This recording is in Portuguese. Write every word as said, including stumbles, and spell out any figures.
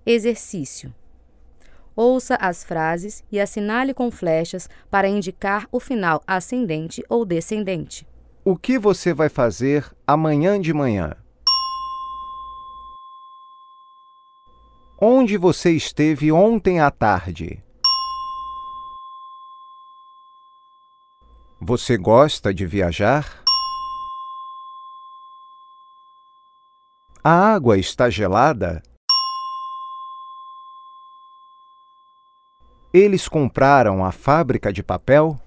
Exercício. Ouça as frases e assinale com flechas para indicar o final ascendente ou descendente. O que você vai fazer amanhã de manhã? Onde você esteve ontem à tarde? Você gosta de viajar? A água está gelada? Eles compraram a fábrica de papel?